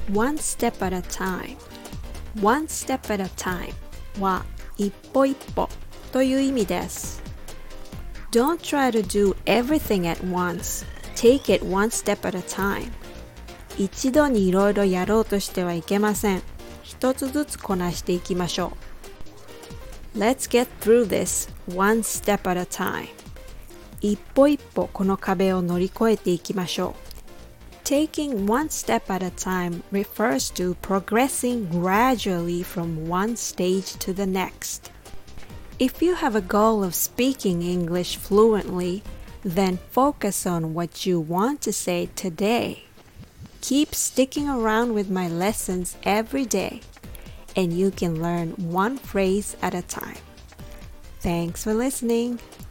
One step at a time. One step at a time は一歩一歩という意味です。Don't try to do everything at once. Take it one step at a time. 一度にいろいろやろうとしてはいけません。一つずつこなしていきましょう。Let's get through this one step at a time. 一歩一歩この壁を乗り越えていきましょう。Taking one step at a time refers to progressing gradually from one stage to the next. If you have a goal of speaking English fluently, then focus on what you want to say today. Keep sticking around with my lessons every day, and you can learn one phrase at a time. Thanks for listening.